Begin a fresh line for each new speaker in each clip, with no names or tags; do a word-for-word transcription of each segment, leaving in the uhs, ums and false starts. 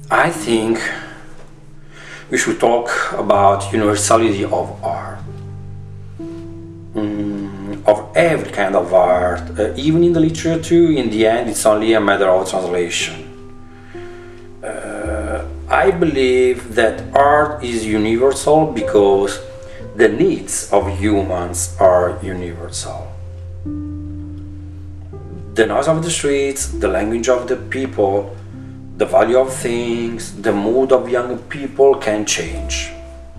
I think we should talk about universality of art, mm, of every kind of art, uh, even in the literature. In the end, it's only a matter of translation. Uh, I believe that art is universal because the needs of humans are universal. The noise of the streets, the language of the people, the value of things, the mood of young people can change.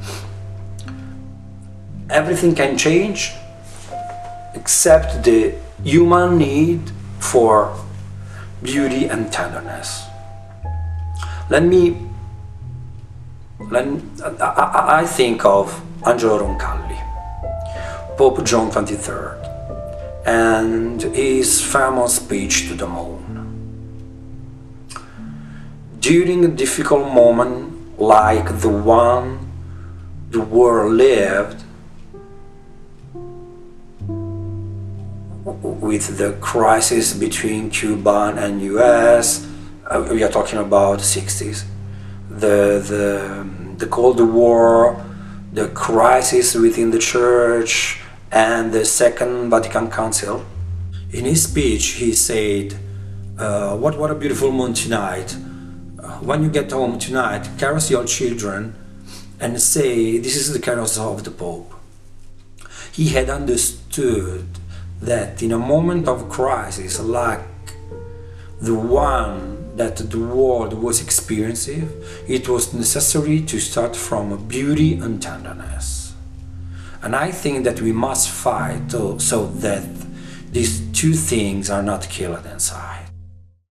Everything can change except the human need for beauty and tenderness. Let me, let me I, I think of Angelo Roncalli, Pope John the twenty-third, and his famous speech to the moon. During a difficult moment like the one the world lived, with the crisis between Cuba and U S, uh, we are talking about the sixties, the, the, the Cold War, the crisis within the Church, and the Second Vatican Council. In his speech he said, uh, what, what a beautiful moon tonight. When you get home tonight, caress your children and say, this is the caress of the Pope. He had understood that in a moment of crisis like the one that the world was experiencing, it was necessary to start from beauty and tenderness. And I think that we must fight so that these two things are not killed inside.